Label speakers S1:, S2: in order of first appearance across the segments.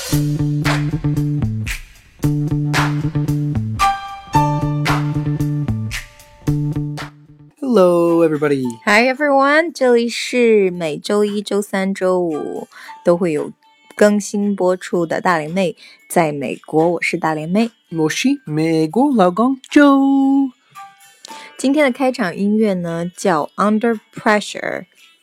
S1: Hello, everybody.
S2: Hi, everyone. 这里是每周一、周三、周五都会有更新播出的大龄妹。在美国，我是大龄妹。
S1: 我是美国老公 Joe。
S2: 今天的开场音乐呢，叫 Under Pressure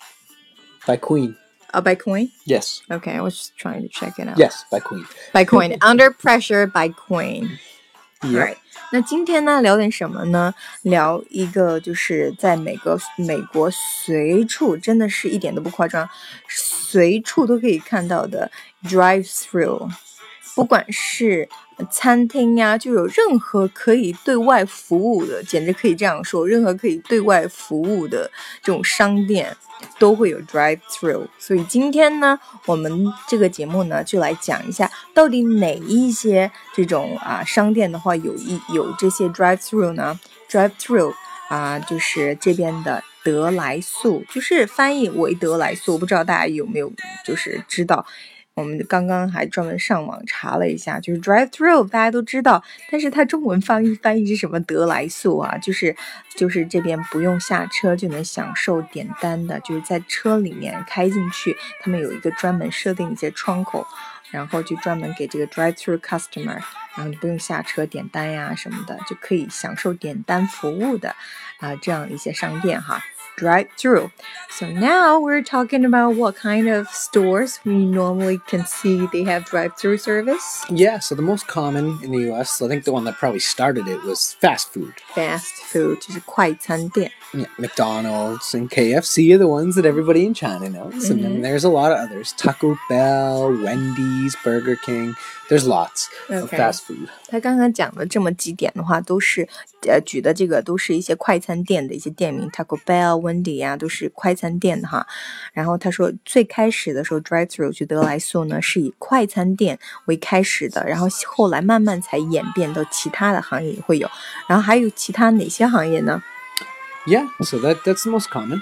S1: by Queen.
S2: by Queen?
S1: Yes.
S2: Okay, I was just trying to check it out.
S1: Yes, by Queen.
S2: By Queen. Under Pressure by Queen.
S1: Yep.
S2: Right. 那今天呢，聊点什么呢？聊一个就是在美国随处，真的是一点都不夸张，随处都可以看到的 drive-through。不管是餐厅呀，就有任何可以对外服务的，简直可以这样说，任何可以对外服务的这种商店都会有 drive-through。所以今天呢，我们这个节目呢，就来讲一下到底哪一些这种商店的话有这些 drive-through 呢 ？drive-through 就是这边的得来速，就是翻译为得来速，我不知道大家有没有就是知道。我们刚刚还专门上网查了一下，就是 drive-through 大家都知道，但是它中文翻译是什么得来速啊？就是这边不用下车就能享受点单的，就是在车里面开进去，他们有一个专门设定一些窗口，然后就专门给这个 drive-through customer， 然后就不用下车点单呀什么的，就可以享受点单服务的这样一些商店哈。Drive-through. So now we're talking about what kind of stores we normally can see they have drive-through service.
S1: Yeah, so the most common in the U.S., I think the one that probably started it was fast food.
S2: Fast food 就是快餐店。
S1: Yeah, McDonald's and KFC are the ones that everybody in China knows. And then there's a lot of others. Taco Bell, Wendy's, Burger King. There's lots of fast food.
S2: 他刚刚讲的这么几点的话，都是举的这个都是一些快餐店的一些店名 ，Taco Bell、Wendy 啊，都是快餐店的哈。然后他说，最开始的时候 drive-through 去得来速呢，是以快餐店为开始的，然后后来慢慢才演变到其他的行业也会有。然后还有其他哪些行业呢
S1: ？Yeah, so that's the most common.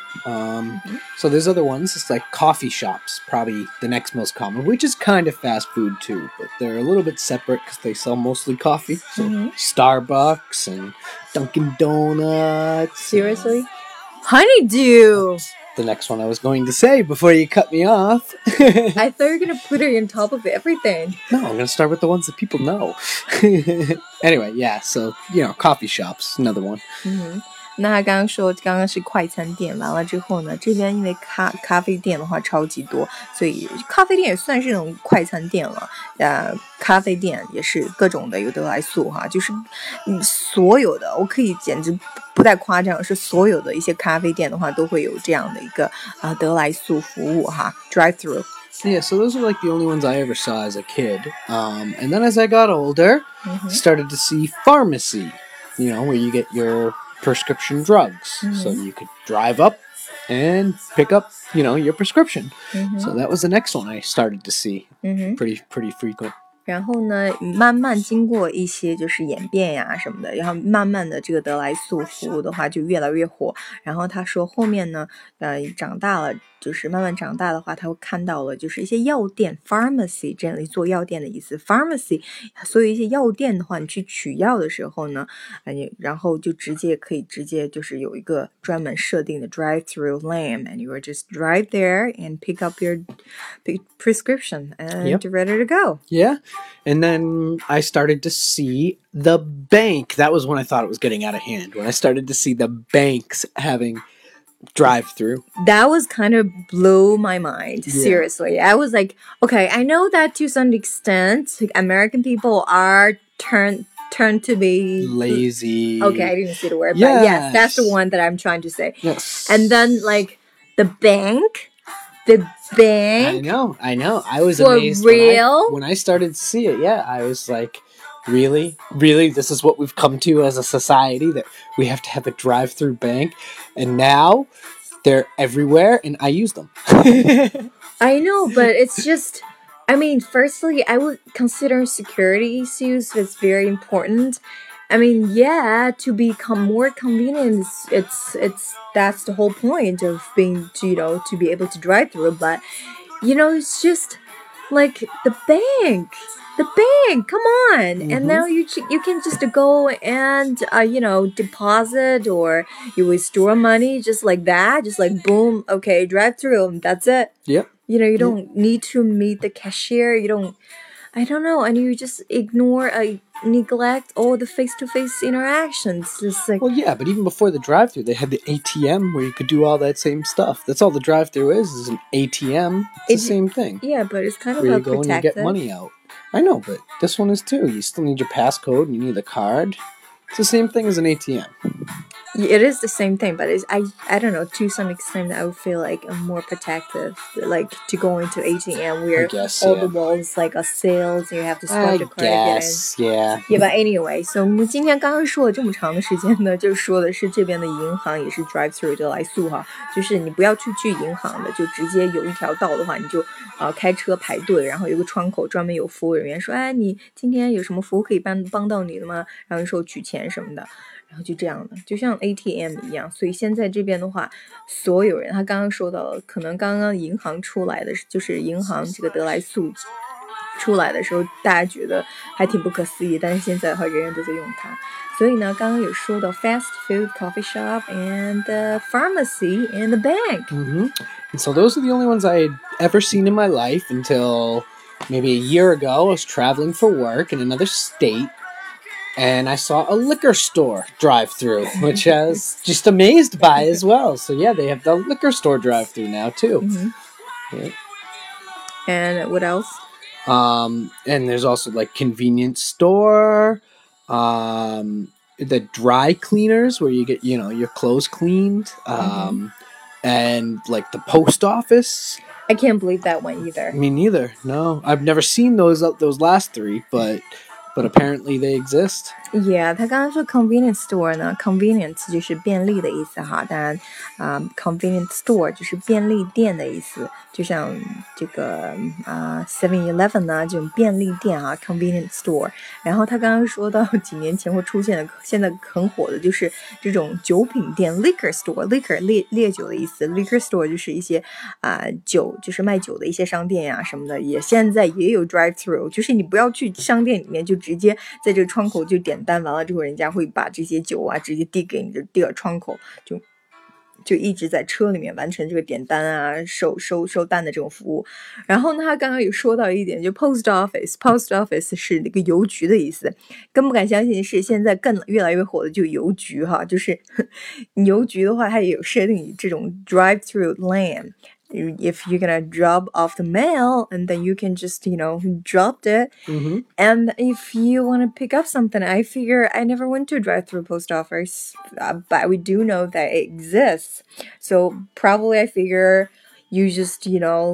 S1: So there's other ones. It's like coffee shops, probably the next most common, which is kind of fast food too, but they're a little bit separate because they sell mostly coffee. So Starbucks and Dunkin' Donuts.
S2: Seriously? Honeydew!
S1: The next one I was going to say before you cut me off.
S2: I thought you were going to put it on top of everything.
S1: No, I'm going to start with the ones that people know. Anyway, yeah, so, coffee shops, another one.
S2: 那他刚刚是快餐店，完了之后呢，这边因为咖啡店的话超级多，所以咖啡店也算是那种快餐店了。咖啡店也是各种的有得来速哈，就是所有的，我可以简直不带夸张，是所有的一些咖啡店的话都会有这样的一个得来速服务哈 ，drive-through。
S1: Yeah, so those are like the only ones I ever saw as a kid. And then as I got older, started to see pharmacy, where you get your prescription drugs. So you could drive up and pick up, your prescription. So that was the next one I started to see. Pretty frequent.
S2: 然后呢，慢慢经过一些就是演变呀什么的，然后慢慢的这个得来速服务的话就越来越火。然后他说后面呢，长大了，就是慢慢长大的话，他会看到了就是一些药店 pharmacy 这里做药店的意思 pharmacy， 所以一些药店的话，你去取药的时候呢，然后就可以直接就是有一个专门设定的 drive-through lane and you will just drive there and pick up your prescription and ready to go.
S1: Yeah. And then I started to see the bank. That was when I thought it was getting out of hand. When I started to see the banks having drive-through.
S2: That was kind of blew my mind. Seriously. I was like, okay, I know that to some extent, American people are turned to be
S1: lazy.
S2: Okay, I didn't see the word, but yes, that's the one that I'm trying to say.
S1: Yes.
S2: And then like the bank.
S1: I know. I was amazed.
S2: For real?
S1: When I started to see it, I was like, really? This is what we've come to as a society, that we have to have a drive-through bank? And now they're everywhere and I use them.
S2: I know, but it's just, I mean, firstly, I would consider security issues is very important. I mean, yeah, to become more convenient, it's that's the whole point of being, to be able to drive through. But, it's just like the bank. The bank, come on! And now you can just go and deposit or you withdraw money just like that, just like boom, okay, drive through, that's it.
S1: Yep.
S2: You don't need to meet the cashier. I don't know, and you just neglect all the face-to-face interactions. Just like,
S1: well, yeah, but even before the drive-through, they had the ATM where you could do all that same stuff. That's all the drive-through is an ATM. It's the same thing.
S2: Yeah, but it's kind of
S1: where you
S2: a
S1: go and you get money out. I know, but this one is too. You still need your passcode and you need a card. It's the same thing as an ATM.
S2: It is the same thing, but I don't know, to some extent I would feel like I'm more protective, like to go into ATM where all the walls like are sealed, so you have to swipe the card
S1: yeah.
S2: Yeah, but anyway, so 我们今天刚刚说了这么长的时间呢，就说的是这边的银行也是 drive through 得来速哈，就是你不要去银行的，就直接有一条道的话，你就开车排队，然后有个窗口专门有服务人员说，哎，你今天有什么服务可以帮到你的吗？然后有时候取钱什么的。然后就这样的，就像 ATM 一样，所以现在这边的话，所有人他刚刚说到了，可能刚刚银行出来的，就是银行这个得来速出来的时候，大家觉得还挺不可思议，但是现在的话，人人都在用它。所以呢，刚刚有说到 fast food, coffee shop, and the pharmacy and the bank.
S1: And so those are the only ones I had ever seen in my life until maybe a year ago. I was traveling for work in another state. And I saw a liquor store drive-through, which I was just amazed by as well. So yeah, they have the liquor store drive-through now too. Yeah.
S2: And what else?
S1: And there's also like convenience store, the dry cleaners where you get your clothes cleaned, and like the post office.
S2: I can't believe that one either.
S1: Me neither. No, I've never seen those last three, but apparently they exist.
S2: Yeah, 他刚刚说 convenience store 呢 ，convenience 就是便利的意思哈，当然convenience store 就是便利店的意思，就像这个7-Eleven 呢这种便利店啊 convenience store。然后他刚刚说到几年前会出现的，现在很火的就是这种酒品店 liquor store，liquor 烈酒的意思 ，liquor store 就是一些酒，就是卖酒的一些商店呀什么的，现在也有 drive through， 就是你不要去商店里面就直接在这个窗口就点单，完了之后人家会把这些酒啊直接递给你，就递到窗口，就一直在车里面完成这个点单啊收单的这种服务。然后呢他刚刚有说到一点，就 post office 是那个邮局的意思，更不敢相信是现在越来越火的就邮局哈，就是邮局的话它也有设定这种 drive through lane。If you're gonna drop off the mail, and then you can just, drop it. And if you want to pick up something, I figure I never went to a drive-through post office, but we do know that it exists. So probably I figure you just,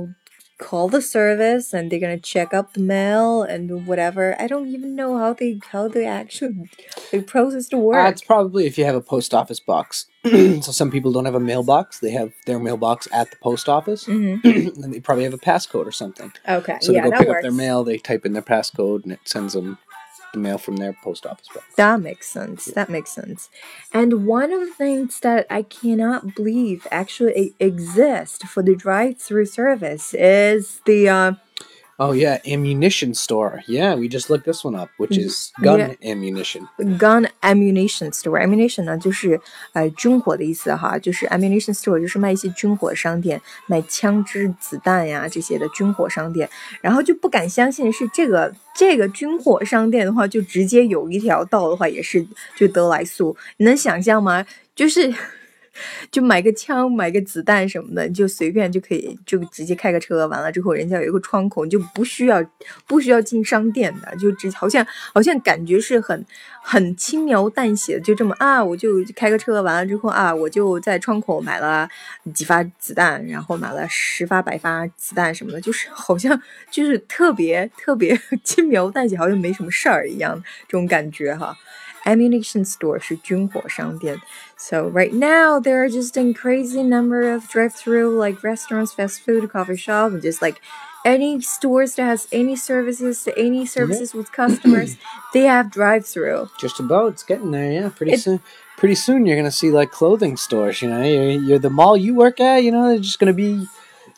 S2: call the service and they're gonna check up the mail and whatever. I don't even know how they actually process the work.
S1: It's probably if you have a post office box. So some people don't have a mailbox; they have their mailbox at the post office, and they probably have a passcode or something.
S2: Okay,
S1: so they go
S2: that
S1: pick
S2: works.
S1: up their mail, they type in their passcode, and it sends them the mail from their post office box.
S2: That makes sense. And one of the things that I cannot believe actually exists for the drive-through service is the
S1: Oh yeah, ammunition store. Yeah, we just looked this one up, which is gun ammunition.
S2: Gun ammunition store. Ammunition 呢就是军火的意思哈，就是 ammunition store 就是卖一些军火商店，卖枪支、子弹呀这些的军火商店。然后就不敢相信是这个军火商店的话，就直接有一条道的话也是就得来速，你能想象吗？就买个枪买个子弹什么的，你就随便就可以就直接开个车，完了之后人家有一个窗口，你就不需要进商店的，就好像感觉是很轻描淡写的，就这么我就开个车，完了之后我就在窗口买了几发子弹，然后买了10发100发子弹什么的，就是好像就是特别轻描淡写，好像没什么事儿一样这种感觉哈。Ammunition store 是军火商店。So right now there are just a crazy number of drive-through like restaurants, fast food, coffee shop, and just like any stores that has any services with customers, they have drive-through.
S1: Just about, it's getting there, yeah. Pretty soon you're gonna see like clothing stores. You're the mall you work at. They're just gonna be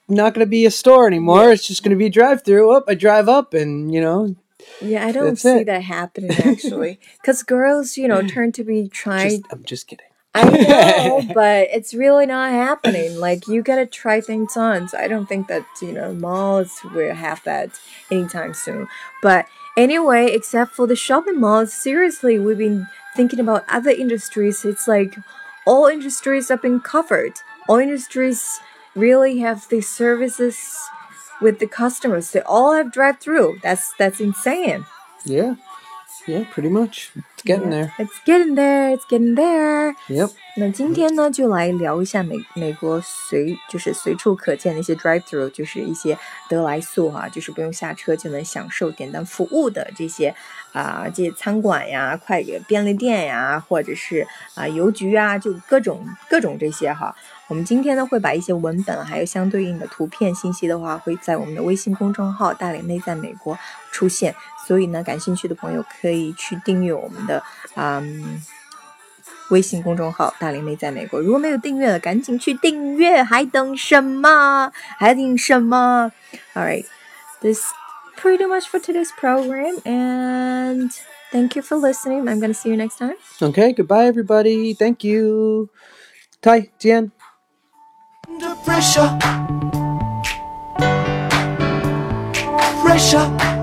S1: not going to be a store anymore. It's just going to be drive-through. Up, I drive up, and
S2: Yeah, I don't see that happening actually, because girls, turn to be trying.
S1: I'm just kidding.
S2: I know, but it's really not happening. Like, you gotta try things on. So I don't think that, malls will have that anytime soon. But anyway, except for the shopping malls, seriously, we've been thinking about other industries. It's like all industries have been covered. All industries really have the services with the customers. They all have drive-through. That's insane.
S1: Yeah, pretty much. It's getting there.
S2: It's getting there. It's getting there.
S1: Yep.
S2: 那今天呢，就来聊一下美国随处可见的一些 drive-through， 就是一些得来速就是不用下车就能享受点单服务的这些这些餐馆呀、便利店呀，或者是邮局啊，就各种这些哈。我们今天呢会把一些文本还有相对应的图片信息的话，会在我们的微信公众号大脸妹在美国出现，所以呢感兴趣的朋友可以去订阅我们的微信公众号大脸妹在美国。如果没有订阅的赶紧去订阅，还等什么 Alright, this pretty much for today's program, and thank you for listening. I'm going to see you next time.
S1: Okay, goodbye everybody. Thank you. 再见.
S3: Under pressure.